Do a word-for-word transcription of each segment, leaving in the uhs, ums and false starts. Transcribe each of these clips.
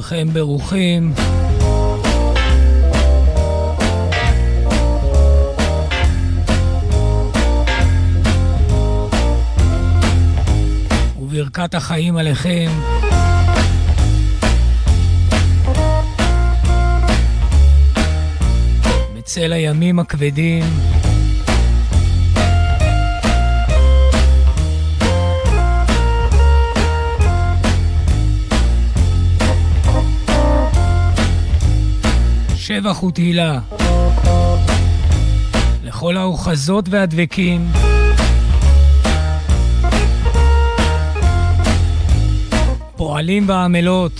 כולכם ברוכים. וברכת החיים עליכם. בצל הימים הכבדים. שבח ותהילה לכל האוחזות והדבקים, פועלים ועמלות,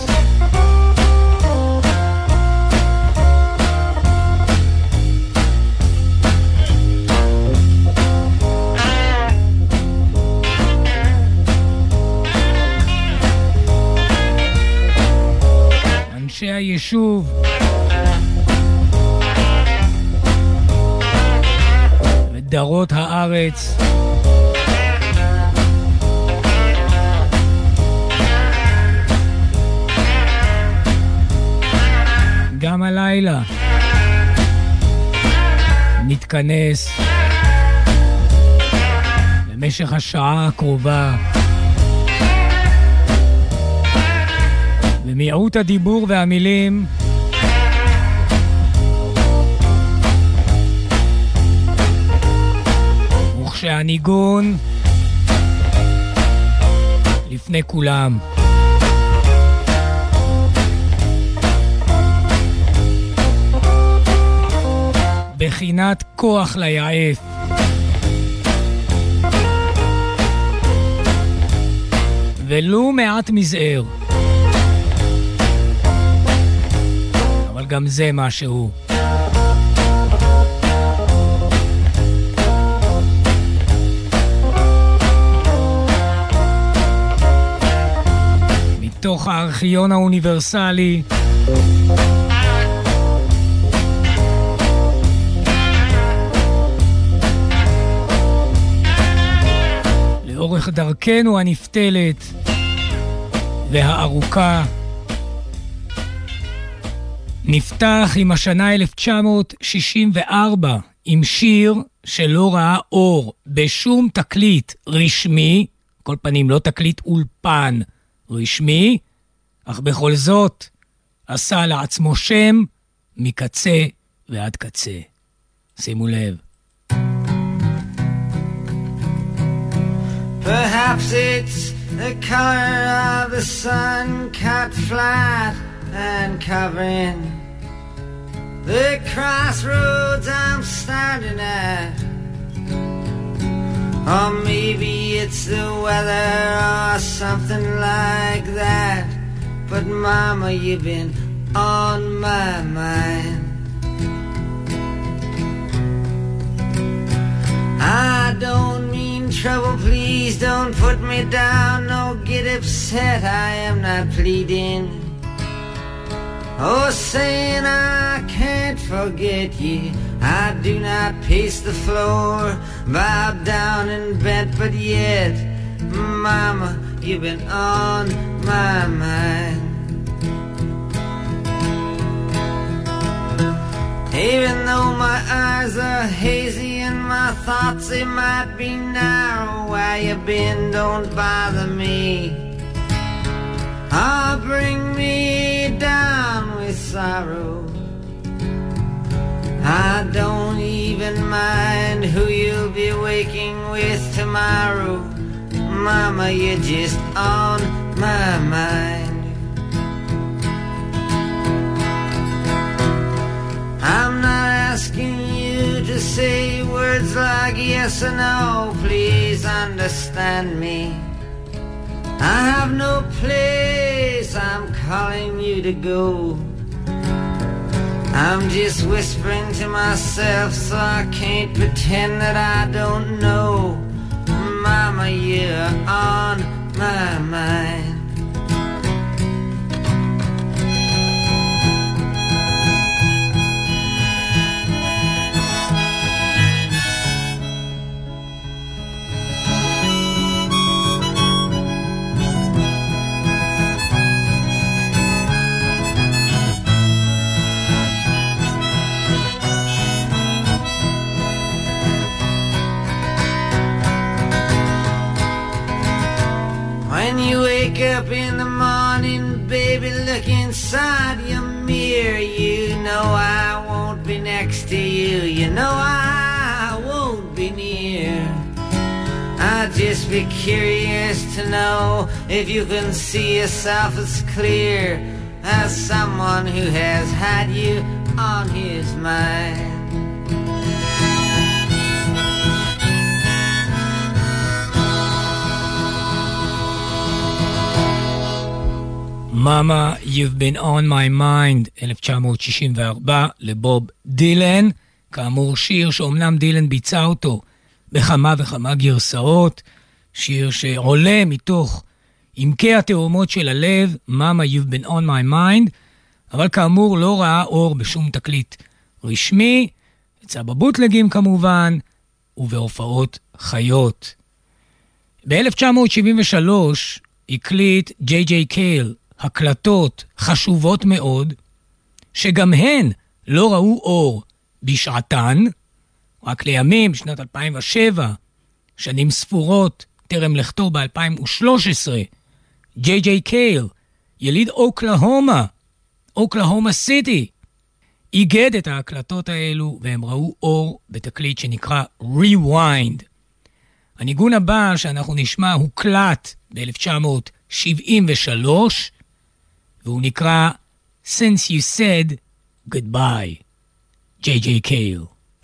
אנשי היישוב, דרות הארץ, גם הלילה נתכנס במשך השעה הקרובה במיעוט הדיבור והמילים שהניגון לפני כולם. בחינת כוח ליעף. ולו מעט מזער. אבל גם זה משהו. מתוך הארכיון האוניברסלי לאורך דרכנו הנפתלת והארוכה. נפתח עם השנה אלף תשע מאות שישים וארבע עם שיר שלא ראה אור בשום תקליט רשמי, כל פנים לא תקליט אולפן רשמי, אך בכל זאת עשה לעצמו שם מקצה ועד קצה. שימו לב. Perhaps it's the color of the sun cut flat and covering the crossroads I'm standing at. Or maybe it's the weather or something like that. But mama, you've been on my mind. I don't mean trouble, please don't put me down. No, get upset, I am not pleading. Oh, saying I can't forget you. I do not pace the floor, bowed down and bent, but yet, mama, you've been on my mind. Even though my eyes are hazy and my thoughts, they might be narrow, where you been don't bother me. Ah, bring me down with sorrow. I don't even mind who you'll be waking with tomorrow. Mama, you're just on my mind. I'm not asking you to say words like yes or no. Please understand me. I have no place I'm calling you to go. I'm just whispering to myself so I can't pretend that I don't know. Mama, you're on my mind. When you wake up in the morning, baby, look inside your mirror. You know I won't be next to you. You know I won't be near. I'd just be curious to know if you can see yourself as clear as someone who has had you on his mind. Mama, You've Been On My Mind, אלף תשע מאות שישים וארבע, לבוב דילן, כאמור שיר שאומנם דילן ביצע אותו בכמה וכמה גרסאות, שיר שעולה מתוך עמקי התאומות של הלב, Mama, You've Been On My Mind, אבל כאמור לא ראה אור בשום תקליט רשמי, יצא בבוטלגים כמובן, ובהופעות חיות. ב-אלף תשע מאות שבעים ושלוש הקליט ג'יי ג'יי קייל הקלטות חשובות מאוד, שגם הן לא ראו אור בשעתן, רק לימים, בשנת אלפיים ושבע, שנים ספורות, טרם לכתו ב-אלפיים ושלוש עשרה, ג'יי ג'יי קייל, יליד אוקלהומה, אוקלהומה סיטי, איגד את ההקלטות האלו, והם ראו אור בתקליט שנקרא Rewind. הניגון הבא שאנחנו נשמע הוקלט ב-אלף תשע מאות שבעים ושלוש, והוא נקרא Since You Said Goodbye, ג'יי ג'יי קייל.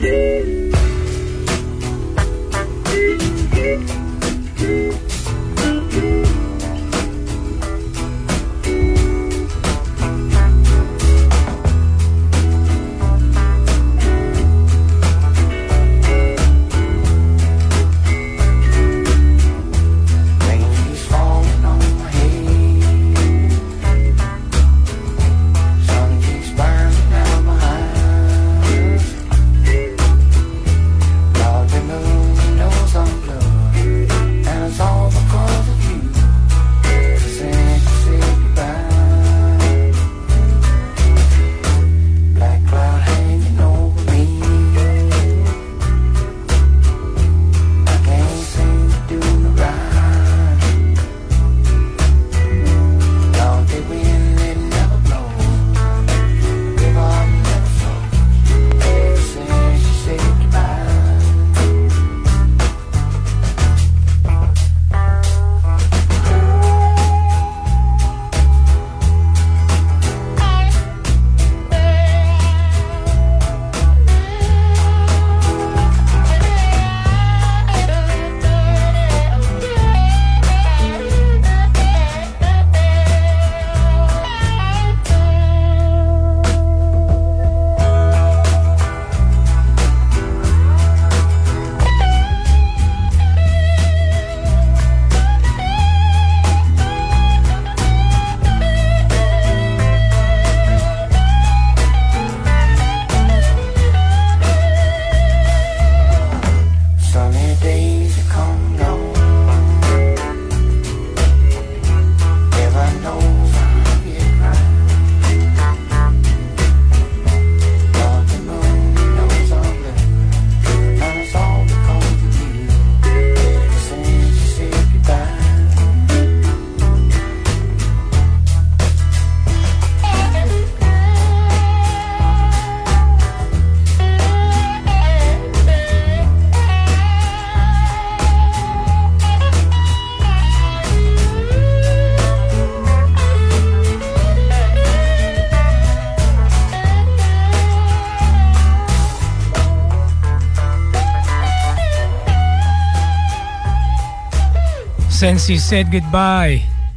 Since You Said Goodbye,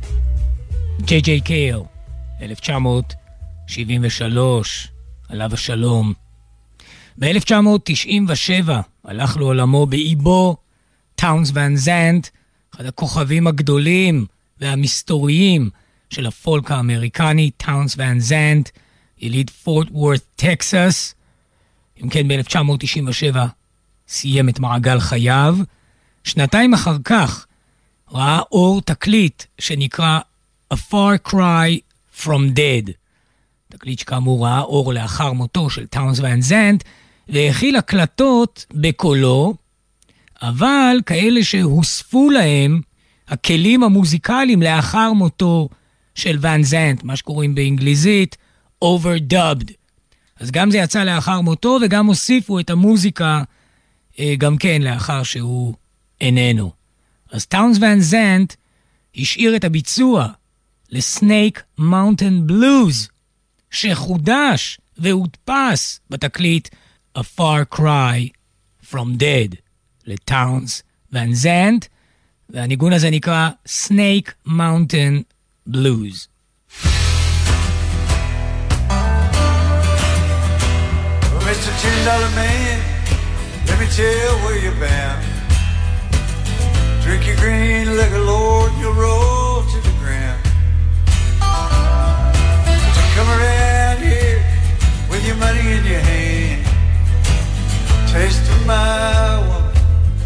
ג'יי ג'יי קייל, אלף תשע מאות שבעים ושלוש, עליו השלום. ב-אלף תשע מאות תשעים ושבע הלך לעולמו באיבו טאונס ון זנט, אחד הכוכבים הגדולים והמסתוריים של הפולק האמריקני, טאונס ון זנט, יליד פורט וורת, טקסס. אם כן, ב-אלף תשע מאות תשעים ושבע סיים את מעגל חייו. שנתיים אחר כך ראה אור תקליט שנקרא A Far Cry From Dead. תקליט שכאמור ראה אור לאחר מותו של טאונס ון זנט, והכיל הקלטות בקולו, אבל כאלה שהוספו להם הכלים המוזיקליים לאחר מותו של ון זנט, מה שקוראים באנגליזית overdubbed. אז גם זה יצא לאחר מותו, וגם הוסיפו את המוזיקה גם כן לאחר שהוא איננו. אז טאונס ון זנט השאיר את הביצוע לסנייק מאונטן בלוז, שחודש והודפס בתקליט A Far Cry From Dead לטאונס ון זנט, והניגון הזה נקרא Snake Mountain Blues. Mister ten dollar man, let me tell where you're bound. Drink your green liquor, Lord, you'll roll to the ground. But you come around here with your money in your hand, taste of my woman,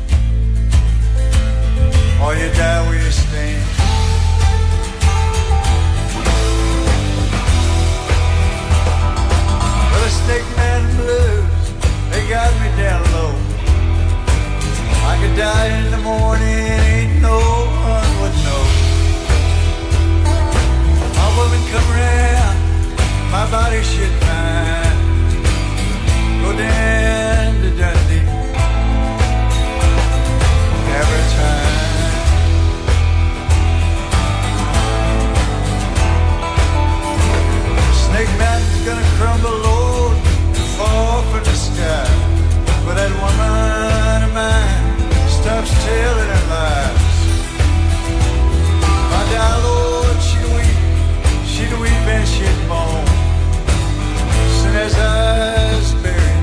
or you die where you stand. Well, the Snake Mountain Blues, they got me down low. I could die in the morning, ain't no one would know. My woman come around, my body shit fine. Go down to Dundee every time. Snake Mountain's gonna crumble, Lord, and fall from the sky. But that woman of mine stops telling her lies. My dear Lord, she'd weep, she'd weep and she'd moan. Soon as I was buried,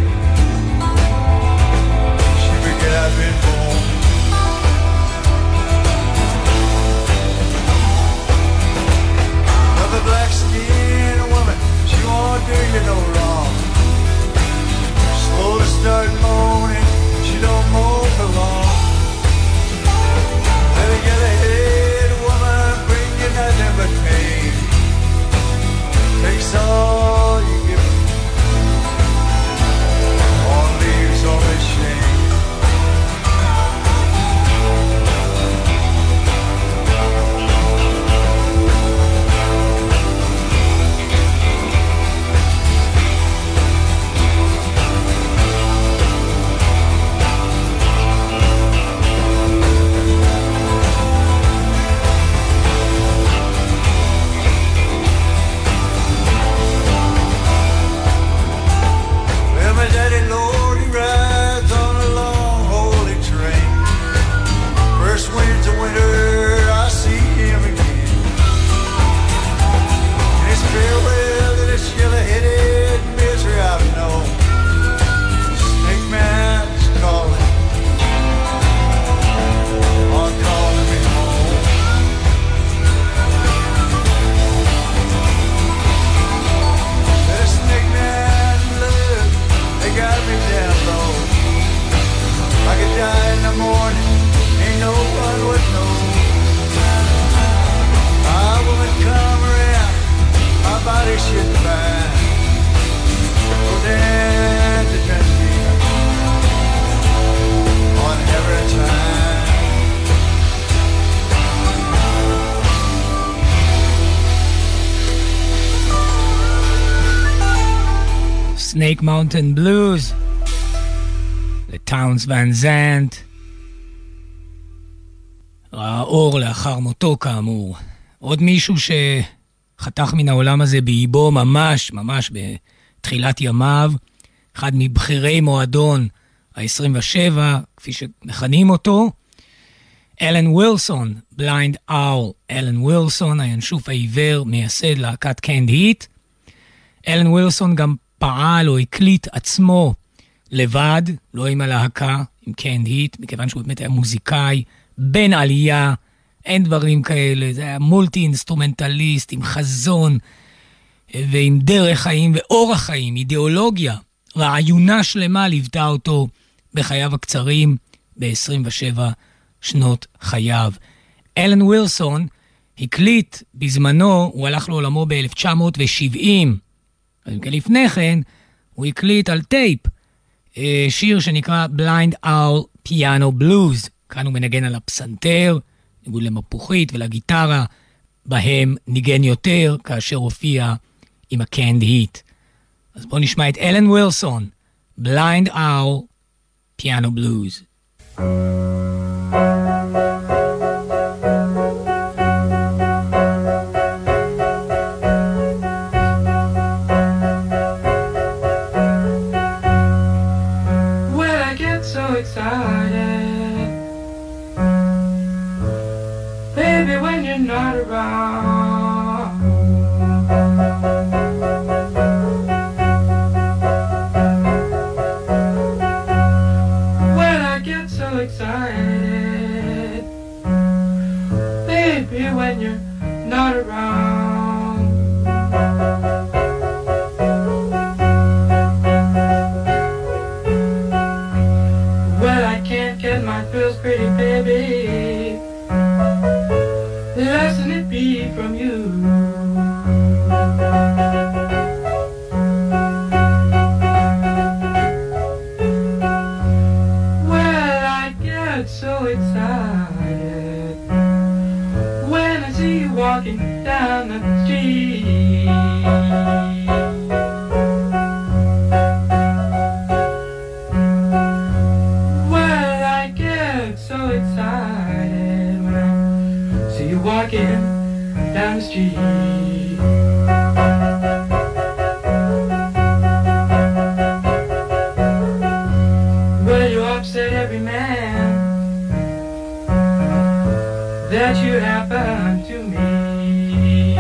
she forget I'd been born. Another black-skinned woman, she won't do you no wrong. Slow to start moaning, she don't moan for long. Let her get ahead, woman, bring you nothing but pain. Takes all you give her, all leaves only shame. Daddy Lord, he rides on a long holy train. First winds of winter, I see him again. And it's farewell to this yellow-headed misery I've known. Snake Mountain's calling, on calling me home. That Snake Mountain Blues, they got me down low. I could die in the morning, ain't no one would know. My woman come around, my body should fine. Go down to Dundee on every time. Snake Mountain Blues לטאונס ון זנט, ראה אור לאחר מותו כאמור. עוד מישהו שחתך מן העולם הזה באיבו ממש ממש בתחילת ימיו, אחד מבחירי מועדון ה-עשרים ושבע כפי שמכנים אותו, אלן ווילסון, בליינד אול. אלן ווילסון, הינשוף העיוור, מייסד להקת קנד היט. אלן ווילסון גם פעל או הקליט עצמו לבד, לא עם הלהקה, עם קנד היט, מכיוון שהוא באמת היה מוזיקאי, בן עלייה, אין דברים כאלה, זה היה מולטי אינסטרומנטליסט, עם חזון, ועם דרך חיים ואורח חיים, אידיאולוגיה, רעיונה שלמה ליוותה אותו בחייו הקצרים, ב-עשרים ושבע שנות חייו. אלן ווילסון הקליט בזמנו, הוא הלך לעולמו ב-אלף תשע מאות שבעים, לפני כן הוא הקליט על טייפ שיר שנקרא Blind Owl Piano Blues. כאן הוא מנגן על הפסנתר, ניגון למפוחית ולגיטרה, בהם ניגן יותר כאשר הופיע עם ה-Canned Heat. אז בואו נשמע את אלן ווילסון, Blind Owl, Piano Blues. Not around. When I get so excited, baby, when you're not around. When I can't get my feels pretty, baby, lesson it be from you. Well, I get so excited when I see you walking down the street. Well, I get so excited when I see you walking down the street. Well, you upset every man that you happen to meet.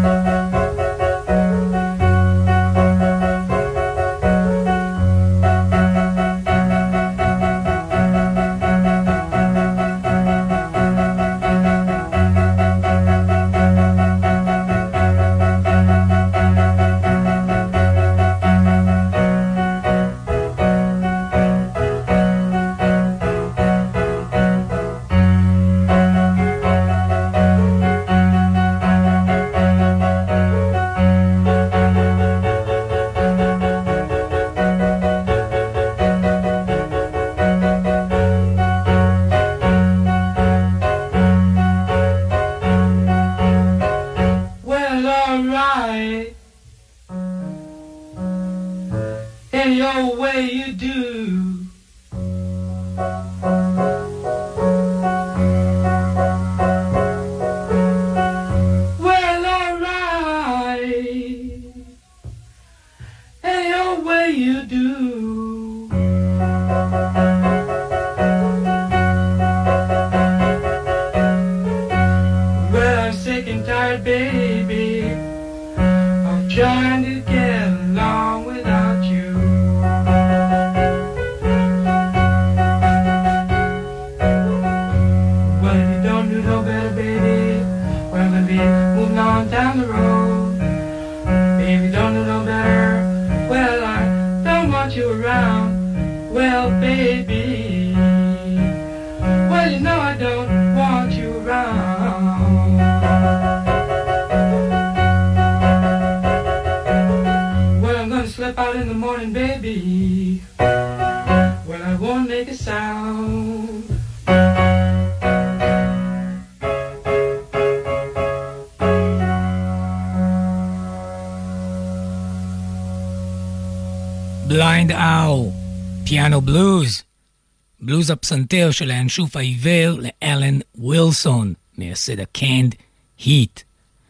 Blind Owl, Piano Blues, בלוז הפסנתר של האנשוף העיוור לאלן ווילסון, מייסד ה-Canned Heat.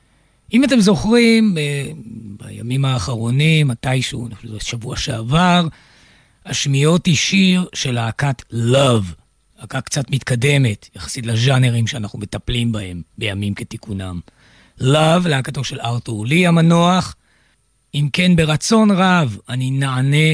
אם אתם זוכרים, ב- בימים האחרונים, מתישהו, שבוע שעבר, השמיעות היא שיר של להקת Love, להקה קצת מתקדמת, יחסית לז'אנרים שאנחנו מטפלים בהם בימים כתיקונם. Love, להקתו של ארתור לי המנוח. אם כן, ברצון רב אני נענה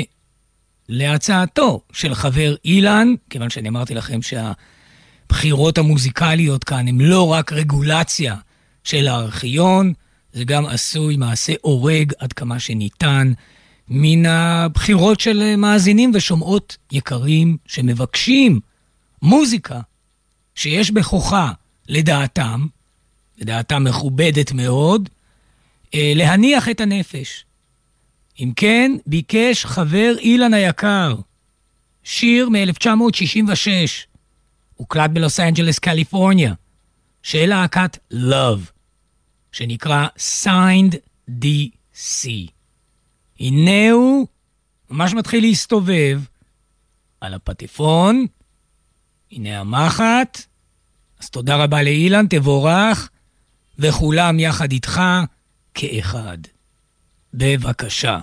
להצעתו של חבר אילן, כיוון שאני אמרתי לכם שהבחירות המוזיקליות כאן הם לא רק רגולציה של הארכיון, זה גם עשוי מעשה אורג עד כמה שניתן מן הבחירות של מאזינים ושומעות יקרים שמבקשים מוזיקה שיש בכוחה לדעתם, לדעתם מכובדת מאוד, להניח את הנפש. אם כן, ביקש חבר אילן היקר, שיר מ-אלף תשע מאות שישים ושש, הוקלט בלוס אנג'לס, קליפורניה, של להקת Love, שנקרא Signed די סי. הנה הוא ממש מתחיל להסתובב על הפטפון. הנה המחט. אז תודה רבה לאילן, תבורך, וכולם יחד איתך כאחד. בבקשה.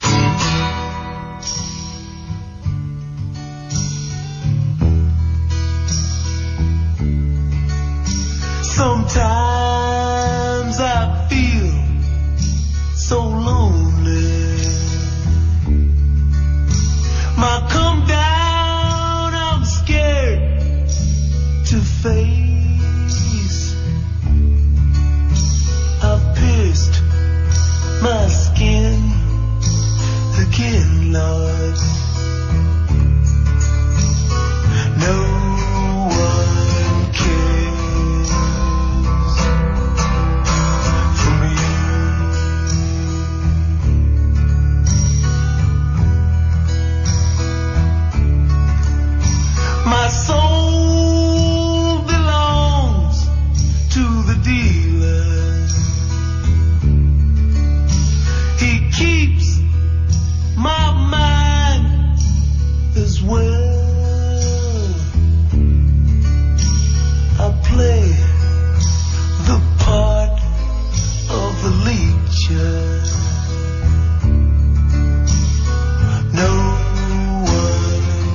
Sometimes I feel so lonely. My come down, I'm scared to face. I've pierced my skin again, Lord. No one cares for me. My soul belongs to the dealer. He keeps my mind as well. I play the part of the leecher. No one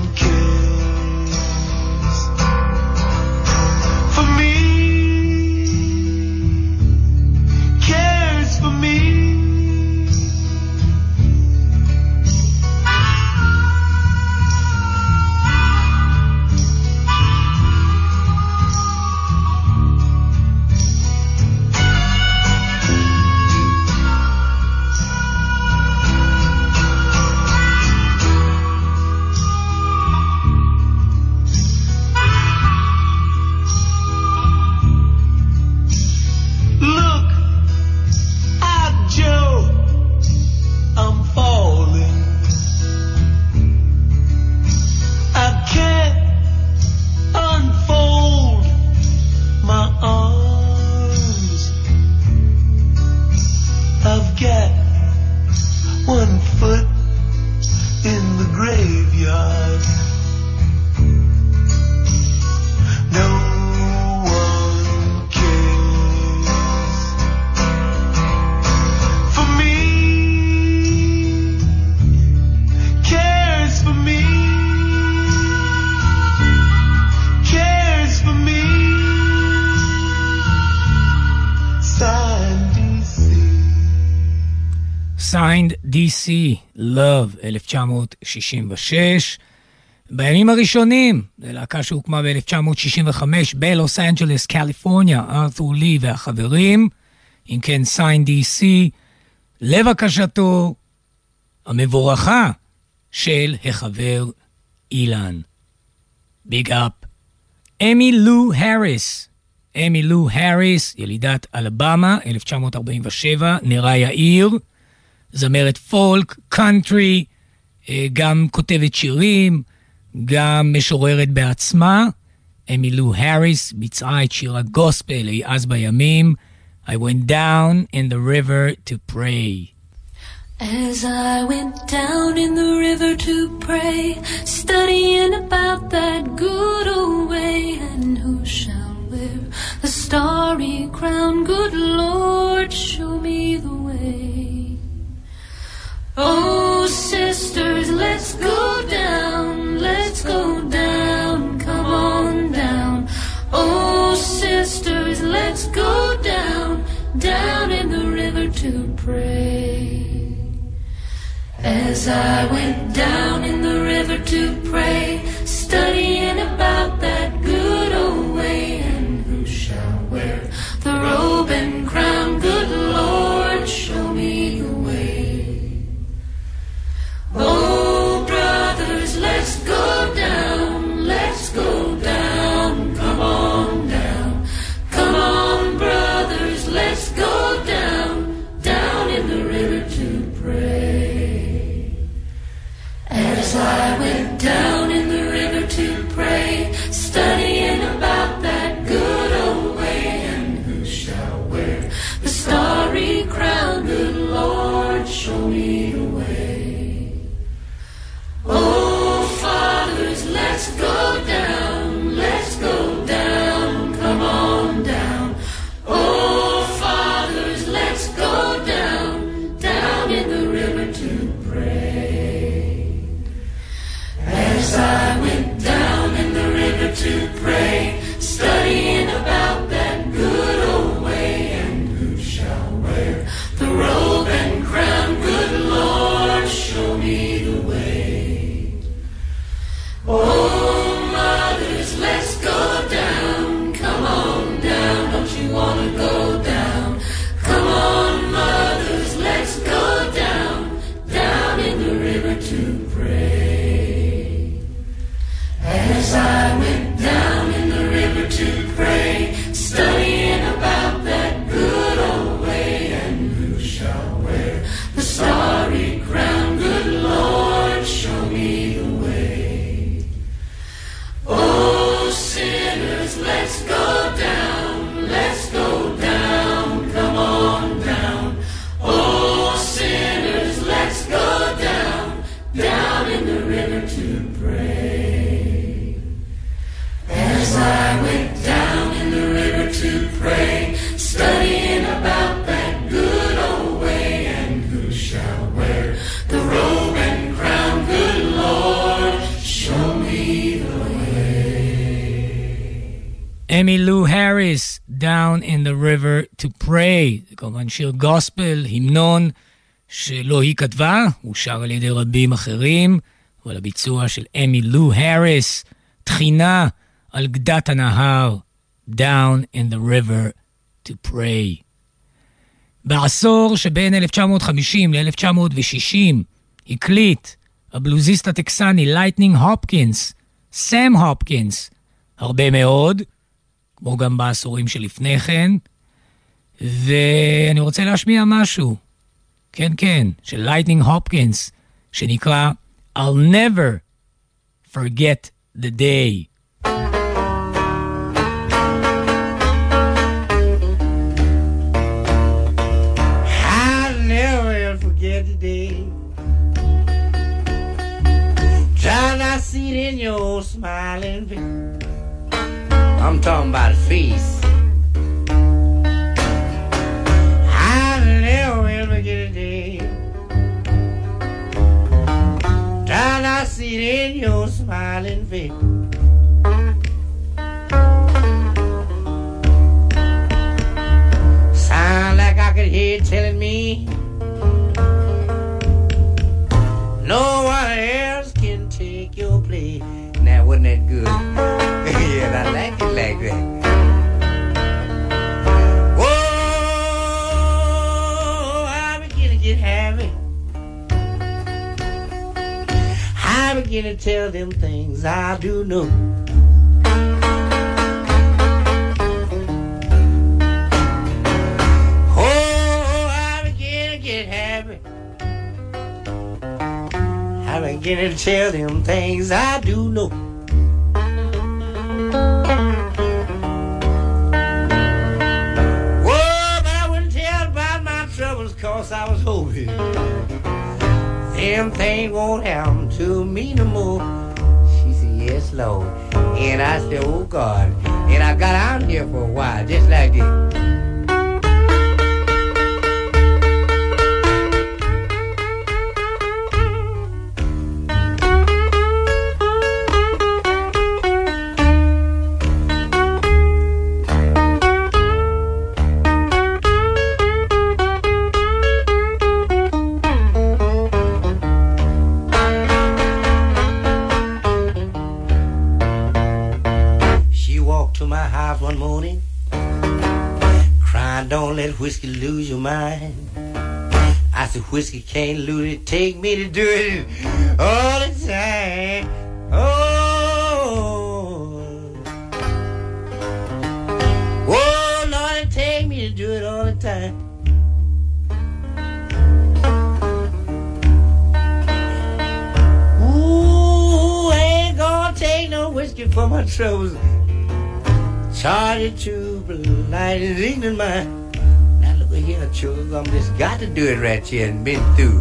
cares for me. Cares for me. Look at Joe, I'm falling. I can't unfold my arms. I've got one foot in the graveyard. No one cares for me. Cares for me. Cares for me. Signed די סי. Signed די סי, Love, אלף תשע מאות שישים ושש. בימים הראשונים, זו להקה שהוקמה ב-אלף תשע מאות שישים וחמש בלוס אנג'לס, קליפורניה, ארתור לי והחברים. אם כן, Signed די סי, לבקשתו המבורכה של החבר אילן. ביג אפ. אמי לו הריס. אמי לו הריס, ילידת אלבמה, אלף תשע מאות ארבעים ושבע, נראה יאיר, זמרת פולק, קאנטרי, גם כותבת שירים, גם משוררת בעצמה. אמי לו הריס ביצעה את שיר הגוספל, היא אז בימים, I went down in the river to pray. As I went down in the river to pray, studying about that good old way, and who shall wear the starry crown? Good Lord, show me the way. Oh, sisters, let's go down, let's go down, come on down. Oh, sisters, let's go down, down in the river to pray. As I went down in the river to pray, studying about that good old way, and who shall wear the robe and crown? Good Lord, show me the way. Oh, brothers, let's go down, let's go down, come on down. Come on, brothers, let's go down, down in the river to pray. As I went down in the river to the starry crown. Good Lord, show me the way. Oh, fathers, let's go down, let's go down, come on down. Oh, fathers, let's go down, down in the river to pray. As I went down in the river to pray, studying about that good old way, and who shall wear the robe and crown? Good Lord, show me the way. Oh, mothers, let's go down, come on down, don't you want to go down? Come on, mothers, let's go down, down in the river to pray. As I went down in the river to pray, studying about that good old way, and who shall wear the starry crown? Good Lord, show me the way. Oh, sinners, let's go down, let's go down, come on down. Oh, sinners, let's go down, down in the river to pray. As I went down in the river to pray, studying about that good old way, and who shall wear the robe and crown? Good Lord, show me the Emmylou Harris, Down in the River to Pray. זה כמובן שיר גוספל, המנון שלא היא כתבה, הוא שר על ידי רבים אחרים, אבל הביצוע של Emmylou Harris, תחינה על גדת הנהר, Down in the River to Pray. בעשור שבין אלף תשע מאות חמישים ל-אלף תשע מאות שישים הקליט הבלוזיסט הטקסני לייטנינג הופקינס, סם הופקינס, הרבה מאוד, כמו גם בעשורים שלפני כן, ואני רוצה להשמיע משהו, כן כן, של לייטנינג הופקינס, שנקרא I'll never forget the day. I'll never forget the day. Try not to see it in your smiling face. I'm talking about a face. I'll never ever get a day. Try not to see it in your smiling face. Sound like I could hear it telling me no one else can take your place. Now, wasn't that good? Yeah, I like it like that. Whoa, I begin to get happy. I begin to tell them things I do know. Oh, I begin to get happy. I begin to tell them things I do know. Cause I was hoping them things won't happen to me no more. She said, yes, Lord. And I said, oh, God. And I got out here for a while, just like this. One morning, crying, don't let whiskey lose your mind. I said, whiskey can't lose it, take me to do it all the time. Oh, oh, Lord, it take me to do it all the time. Ooh, I ain't gonna take no whiskey for my troubles. Charge it to blind and ignorant mind. over here, sugar. I'm just got to do it right here and been through.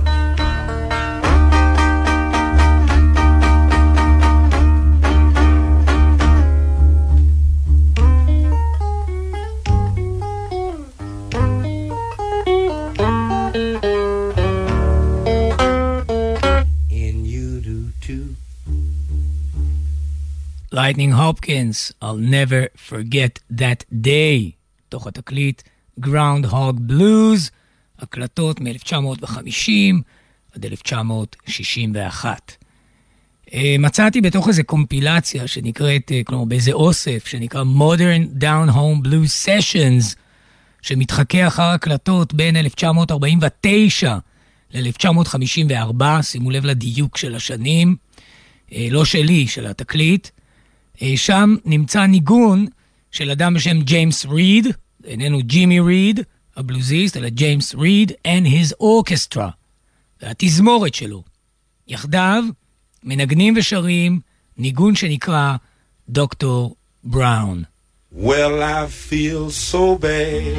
Lightning Hopkins, I'll never forget that day, תוך התקליט Groundhog Blues, הקלטות מ-אלף תשע מאות וחמישים עד אלף תשע מאות שישים ואחת. מצאתי בתוך איזו קומפילציה שנקראת, כלומר באיזה אוסף, שנקרא Modern Down Home Blues Sessions, שמתחכה אחר הקלטות בין אלף תשע מאות ארבעים ותשע ל-אלף תשע מאות חמישים וארבע, שימו לב לדיוק של השנים, לא שלי, של התקליט. שם נמצא ניגון של אדם בשם ג'יימס ריד, איננו ג'ימי ריד, הבלוזיסט, אלא ג'יימס ריד and his orchestra, והתזמורת שלו. יחדיו מנגנים ושרים ניגון שנקרא דוקטור בראון. Well, I feel so bad.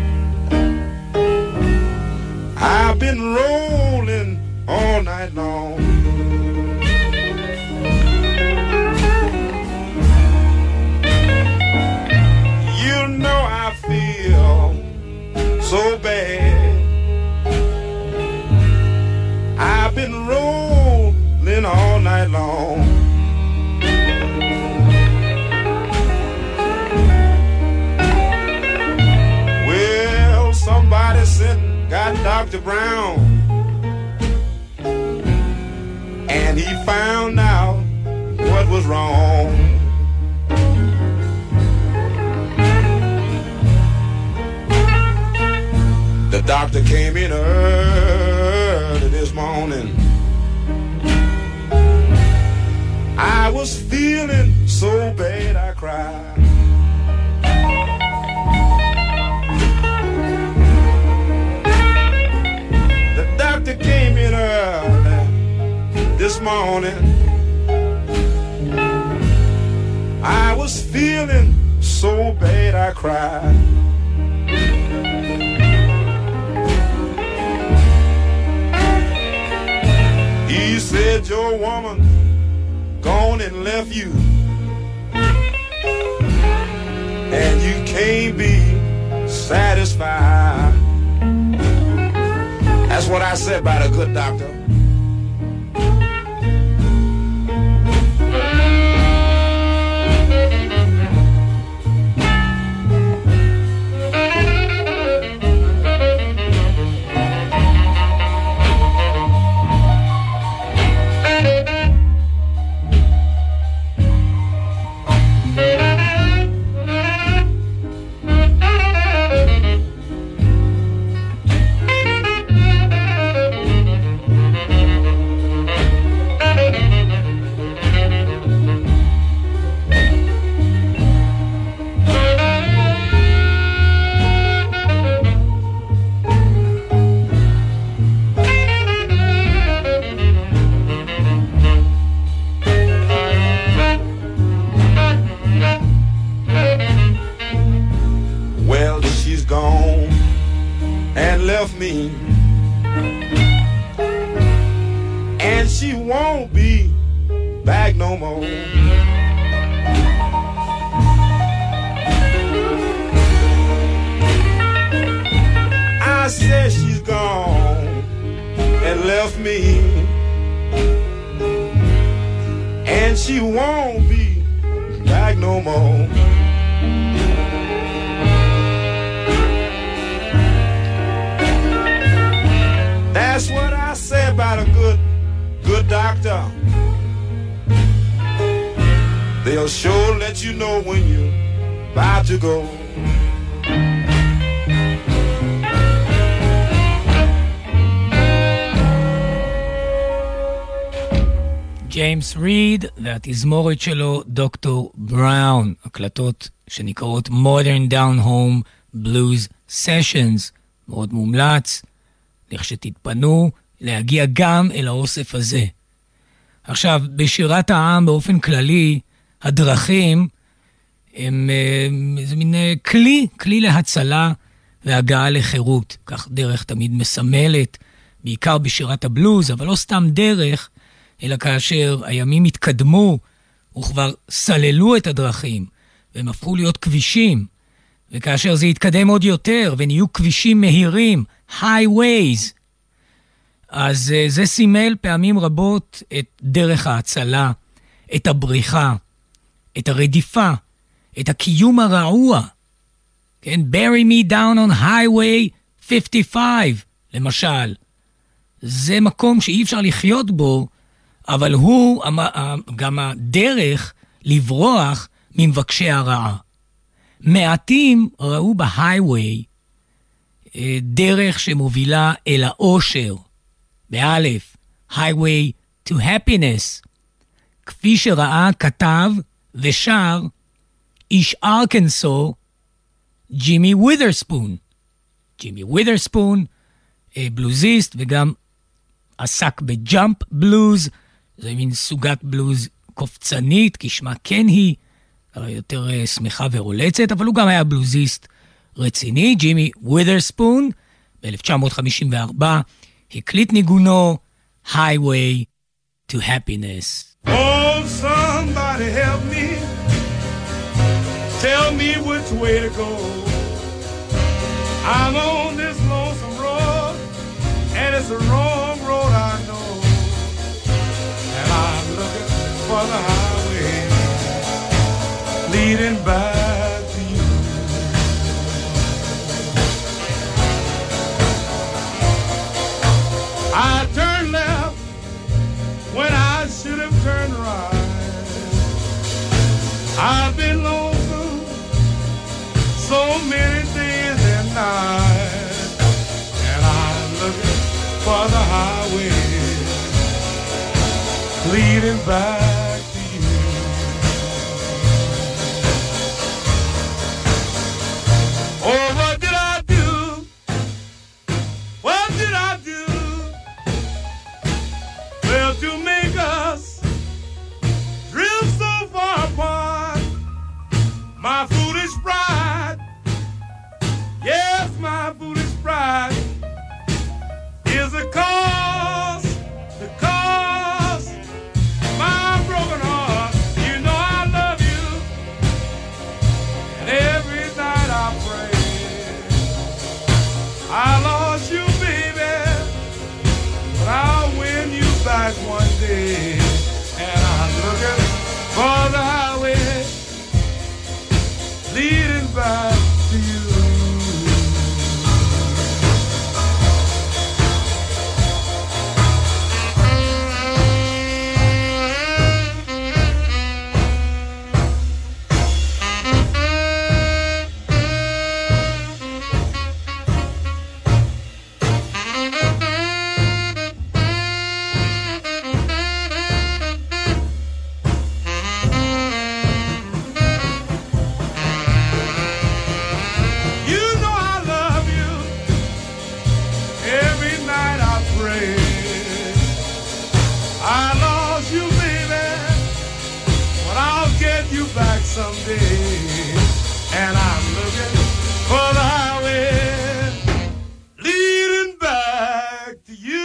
I've been rolling all night long. You know I feel so bad. I've been rolling all night long. Well, somebody sent got Doctor Brown, and he found out what was wrong. The doctor came in early this morning. I was feeling so bad I cried. The doctor came in early this morning. I was feeling so bad I cried. He said your woman gone and left you, and you can't be satisfied. That's what I said about a good doctor. ג'יימס ריד והתזמורת שלו דוקטור בראון, הקלטות שנקראות Modern Down Home Blues Sessions, מאוד מומלץ, לכשתתפנו להגיע גם אל האוסף הזה. עכשיו, בשירת העם באופן כללי, הדרכים הם איזה מין כלי, כלי להצלה, והגעה לחירות. כך דרך תמיד מסמלת, בעיקר בשירת הבלוז, אבל לא סתם דרך, אלא כאשר הימים התקדמו, וכבר סללו את הדרכים, והם הפכו להיות כבישים, וכאשר זה התקדם עוד יותר, ונהיו כבישים מהירים, highways, אז זה סימל פעמים רבות את דרך ההצלה, את הבריחה, את הרדיפה, את הקיום הרעוע. כן, bury me down on highway fifty-five, למשל. זה מקום שאי אפשר לחיות בו, אבל הוא גם הדרך לברוח ממבקשי הרעה. מעטים ראו בהייווי דרך שמובילה אל האושר, באלף, highway to happiness, כפי שראה, כתב ושר איש ארקנסו, ג'ימי ווית'רספון. ג'ימי ווית'רספון, בלוזיסט, וגם עסק בג'אמפ בלוז, זה מין סוגת בלוז קופצנית, כשמה כן היא, יותר שמחה ורולצת, אבל הוא גם היה בלוזיסט רציני. ג'ימי ווית'רספון, ב-אלף תשע מאות חמישים וארבע, הקליט ניגונו Highway to Happiness. Oh, somebody help me. Tell me which way to go. I'm on this lonesome road, and it's the wrong road I know. And I'm looking for the highway leading back to you. I turned left when I should have turned right. I've been lonesome so many days and nights, and I'm looking for the highway leading back to you. Oh, what did I do? What did I do? Well, to make us drift so far apart, my foolish pride, yes, my foolish pride is the cause, the cause of my broken heart. You know I love you, and every night I pray. I lost you, baby, but I'll win you back one day. And I'm looking for the highway leading back to you. Someday, and I'm looking for the highway leading back to you.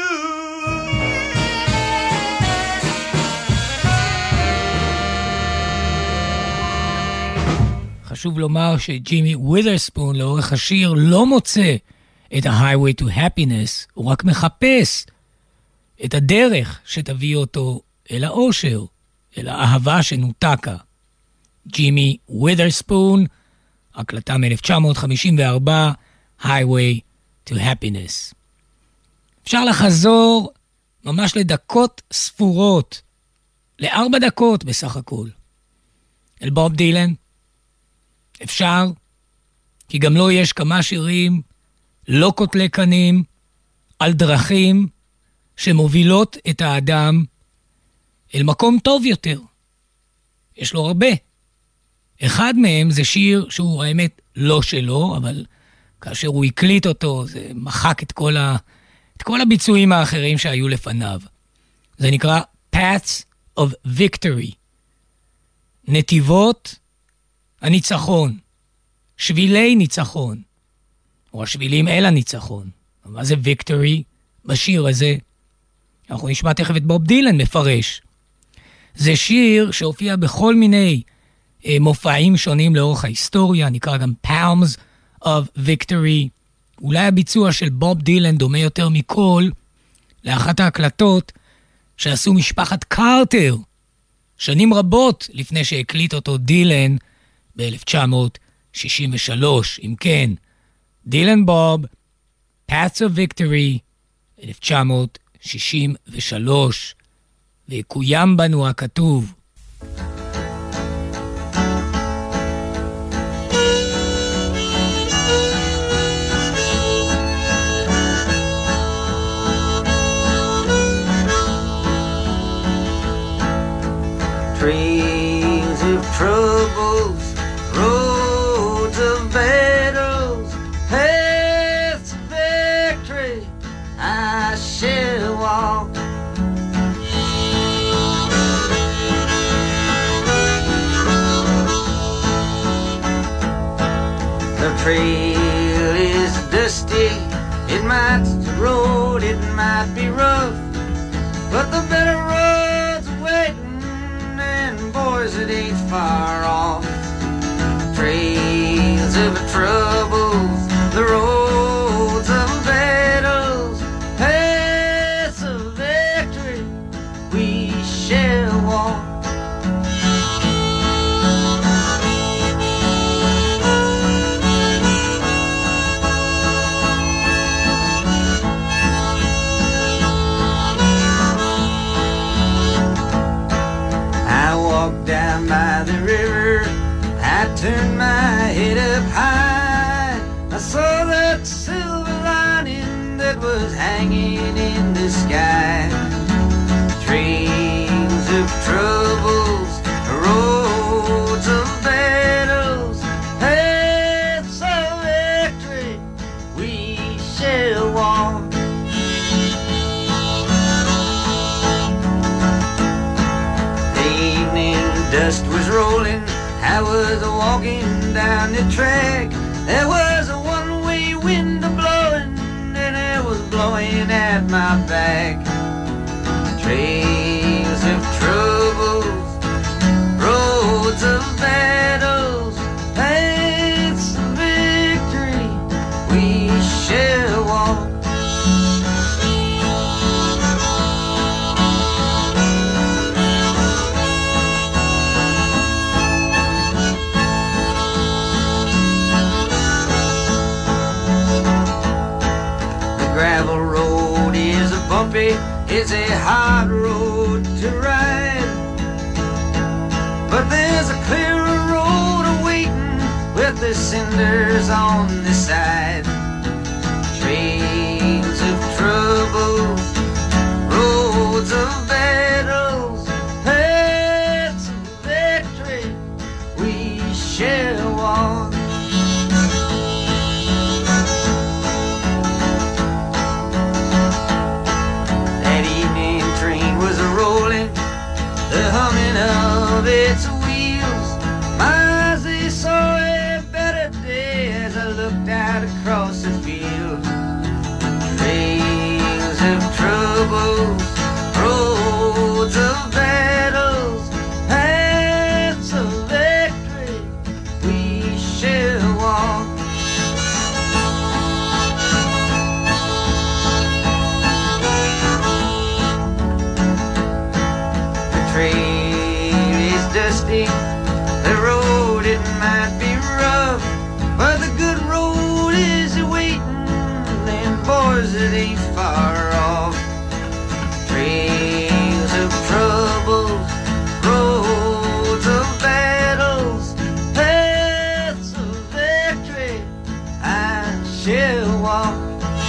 חשוב לומר שג'ימי ווית'רספון לאורך השיר לא מוצא את ה-Highway to Happiness, הוא רק מחפש את הדרך שתביא אותו אל האושר, אל האהבה שנותקה. ג'ימי ווית'רספון, הקלטה מ-אלף תשע מאות חמישים וארבע, Highway to Happiness. אפשר לחזור ממש לדקות ספורות, לארבע דקות בסך הכל, אל בוב דילן. אפשר, כי גם לו יש כמה שירים לא קוטלי קנים, על דרכים שמובילות את האדם אל מקום טוב יותר. יש לו הרבה. אחד מהם זה שיר שהוא האמת לא שלו, אבל כאשר הוא הקליט אותו, זה מחק את כל, ה... את כל הביצועים האחרים שהיו לפניו. זה נקרא Paths of Victory. נתיבות הניצחון. שבילי ניצחון. או השבילים אל הניצחון. מה זה victory בשיר הזה? אנחנו נשמע תכף את בוב דילן מפרש. זה שיר שהופיע בכל מיני אה, מופעים שונים לאורך ההיסטוריה, נקרא גם Palms of Victory. אולי הביצוע של בוב דילן דומה יותר מכל לאחת ההקלטות שעשו משפחת קרטר, שנים רבות לפני שהקליט אותו דילן ב-אלף תשע מאות שישים ושלוש. אם כן, דילן בוב, Paths of Victory, אלף תשע מאות שישים ושלוש, ויקוים בנו הכתוב. Trails of troubles, roads of battles, paths of victory, I shall walk. The trail is dusty, it might be road, it might be rough, but the better road's waiting. Boys, it ain't far off. Trails of troubles, the roads of battles, paths of victory, we shall walk. Down by the river, I turned my head up high. I saw that silver lining that was hanging in the sky. Trails of troubles, roads of battles, paths of victory, we shall walk. Dust was rolling, I was walking down the track. There was a one-way wind blowing, and it was blowing at my back. Trails of troubles, roads of battles, paths of victory, we shall walk. Gravel road is a bumpy, it's a hard road to ride, but there's a clearer road awaiting with the cinders on the side. Trails of troubles, roads of battles, paths of victory, we shall walk. The humming of its wheels, my eyes they saw a better day as I looked out across the field. Trails of troubles, roads of battles, paths of victory, we shall walk. Trail is dusty, the road it might be rough, but the good road is waiting, and boys it ain't far off. Trails of troubles, roads of battles, paths of victory, I shall walk.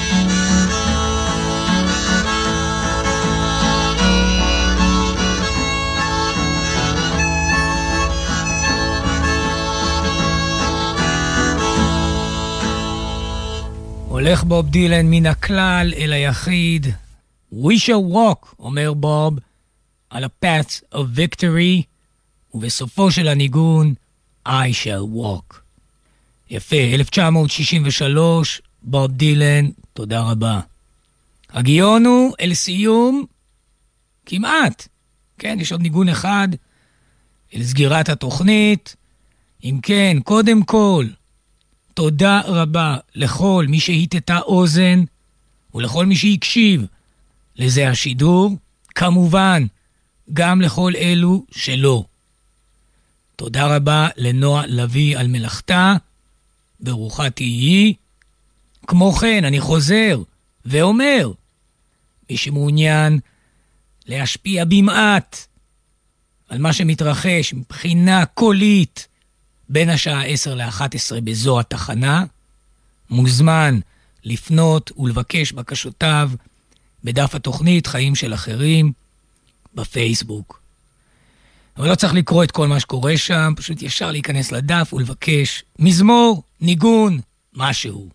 הולך בוב דילן מן הכלל אל היחיד. We shall walk, אומר בוב, על ה-paths of victory, ובסופו של הניגון, I shall walk. יפה, אלף תשע מאות שישים ושלוש, בוב דילן, תודה רבה. הגיונו אל סיום, כמעט. כן, יש עוד ניגון אחד, אל סגירת התוכנית. אם כן, קודם כל, תודה רבה לכל מי שהיטטה אוזן, ולכל מי שהקשיב לזה השידור, כמובן, גם לכל אלו שלא. תודה רבה לנועה לוי על מלאכתה, ברוכה תהיי. כמו כן, אני חוזר ואומר, מי שמעוניין להשפיע במעט על מה שמתרחש מבחינה קולית בין השעה עשר לאחת עשרה בזו התחנה, מוזמן לפנות ולבקש בקשותיו בדף התוכנית חיים של אחרים בפייסבוק. אבל לא צריך לקרוא את כל מה שקורה שם, פשוט ישר להיכנס לדף ולבקש מזמור, ניגון, משהו.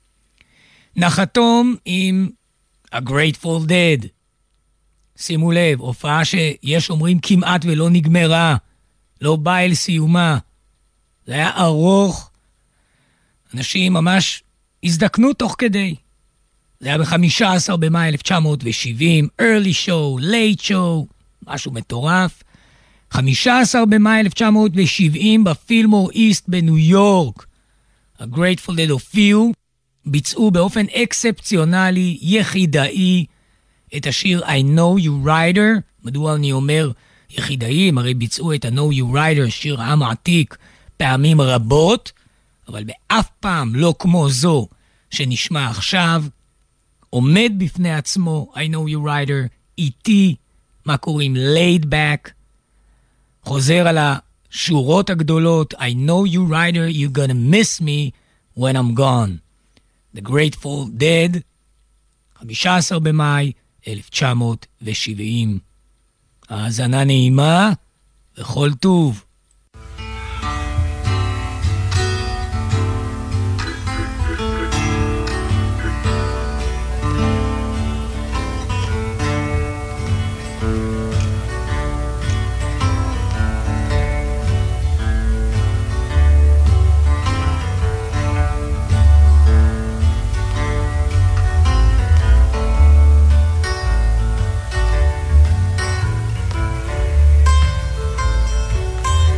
נחתום עם A Grateful Dead. שימו לב, הופעה שיש אומרים כמעט ולא נגמרה, לא באה אל סיומה. זה היה ארוך, אנשים ממש הזדקנו תוך כדי. זה היה ב-חמישה עשר במאי אלף תשע מאות שבעים, early show, late show, משהו מטורף. חמישה עשר במאי אלף תשע מאות שבעים בפילמור איסט בניו יורק. ה-Grateful Dead הופיעו, ביצעו באופן אקספציונלי, יחידאי, את השיר I Know You Rider. מדוע אני אומר יחידאי? הם הרי ביצעו את ה-Know You Rider, שיר עם עתיק, פעמים רבות, אבל באף פעם לא כמו זו שנשמע עכשיו. עומד בפני עצמו, I Know You Rider, איתי, מה קוראים? Laid Back. חוזר על השורות הגדולות, I know you rider, you're gonna miss me when I'm gone. The Grateful Dead, חמישה עשר במאי אלף תשע מאות שבעים. האזנה נעימה וכל טוב. I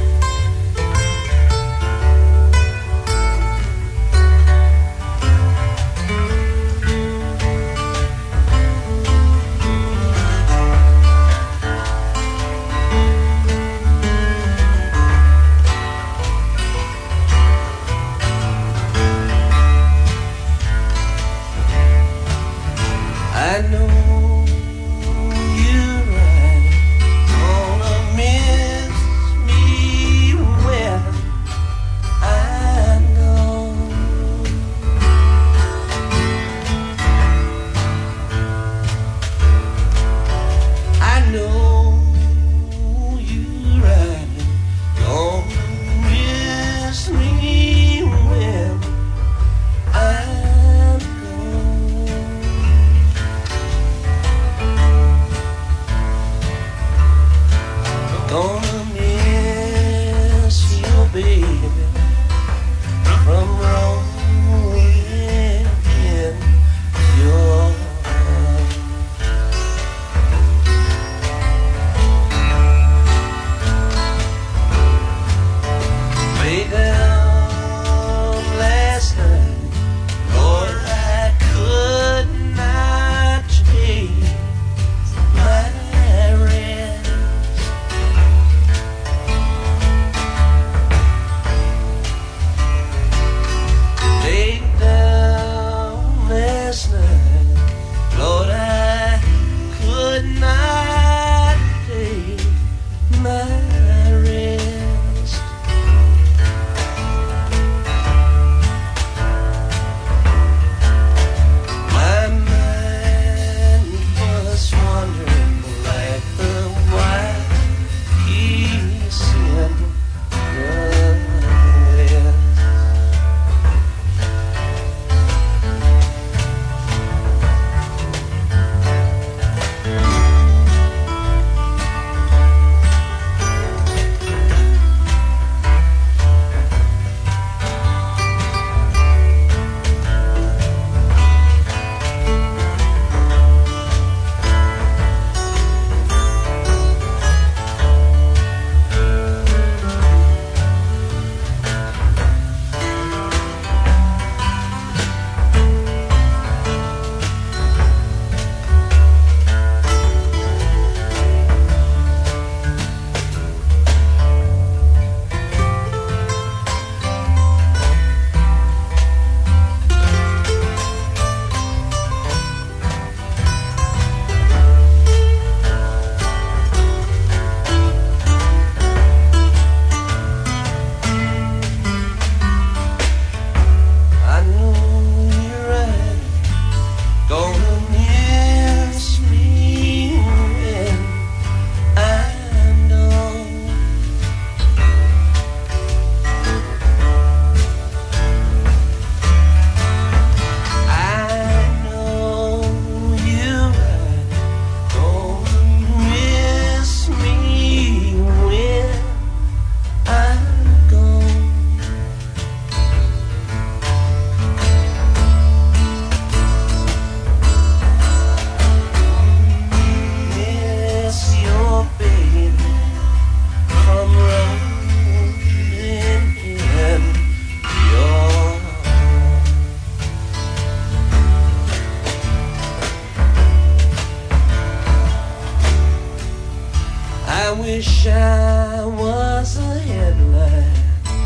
wish I was a headlight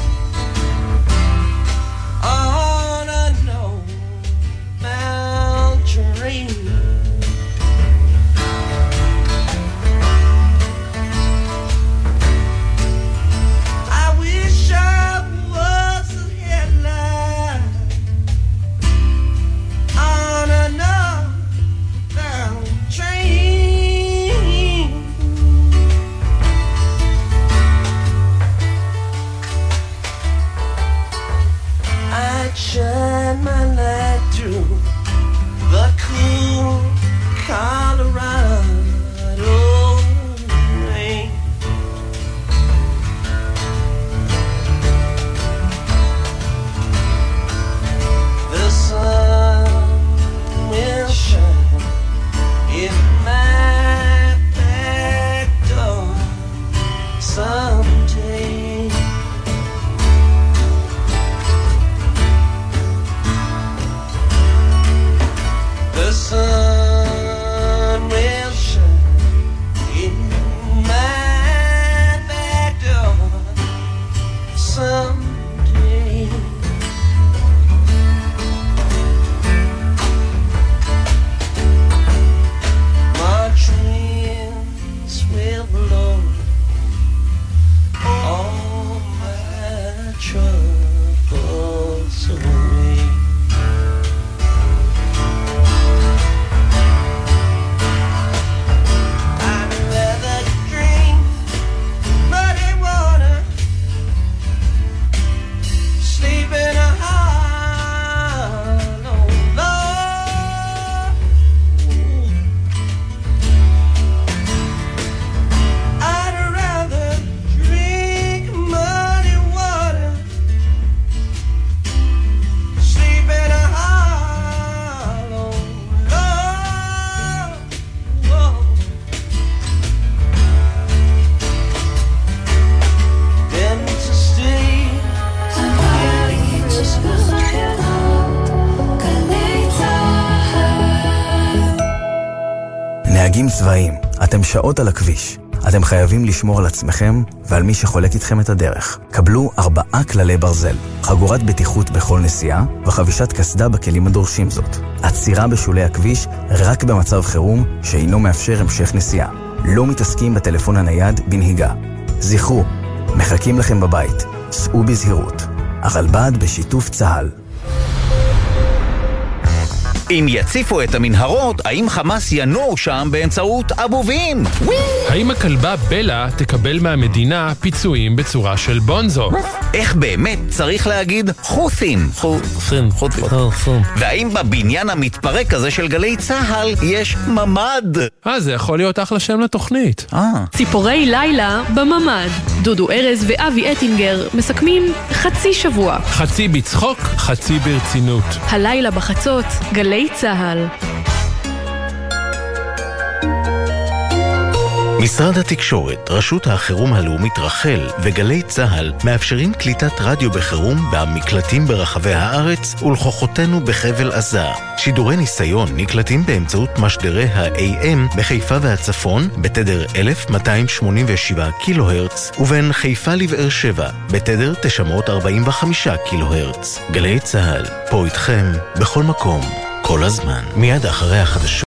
on a no-bound train. I wish I was a headlight on a no-bound train. I'd shine my light through the cool Colorado rain. The sun will shine in my back door someday. The sun will shine in my back door someday. March winds will blow all my troubles away. I'd rather drink muddy water, sleep in a hollow log. I'd rather drink muddy water, sleep in a hollow log. Than to stay in Frisco. נהגים צבאיים, אתם שעות על הכביש. אתם חייבים לשמור על עצמכם ועל מי שחולק איתכם את הדרך. קבלו ארבעה כללי ברזל, חגורת בטיחות בכל נסיעה וחבישת קסדה בכלים הדורשים זאת. עצירה בשולי הכביש רק במצב חירום שאינו מאפשר המשך נסיעה. לא מתעסקים בטלפון הנייד בנהיגה. זכרו, מחכים לכם בבית. סעו בזהירות. הרלב"ד בשיתוף צה"ל. אם יציפו את המנהרות, האם חמאס ינור שם באמצעות אבובים? האם הכלבה בלה תקבל מהמדינה פיצויים בצורה של בונזו? איך באמת צריך להגיד חות'ים? חות'ים, חות'ים. והאם בבניין המתפרק הזה של גלי צהל יש ממד? אה, זה יכול להיות אחלה שם לתוכנית. אה. ציפורי לילה בממד. דודו ארז ואבי אטינגר מסכמים חצי שבוע. חצי בצחוק, חצי ברצינות. הלילה בחצות, גלי צהל. משרד התקשורת, רשות החירום הלאומית רחל וגלי צהל מאפשרים קליטת רדיו בחירום במקלטים ברחבי הארץ ולכוחותינו בחבל עזה. שידורי ניסיון נקלטים באמצעות משדרי ה-איי אם בחיפה והצפון בתדר אלף מאתיים שמונים ושבע קילו הרץ ובין חיפה לבאר שבע בתדר תשע מאות ארבעים וחמש קילו הרץ. גלי צהל, פה איתכם בכל מקום, כל הזמן. מיד אחרי החדשות.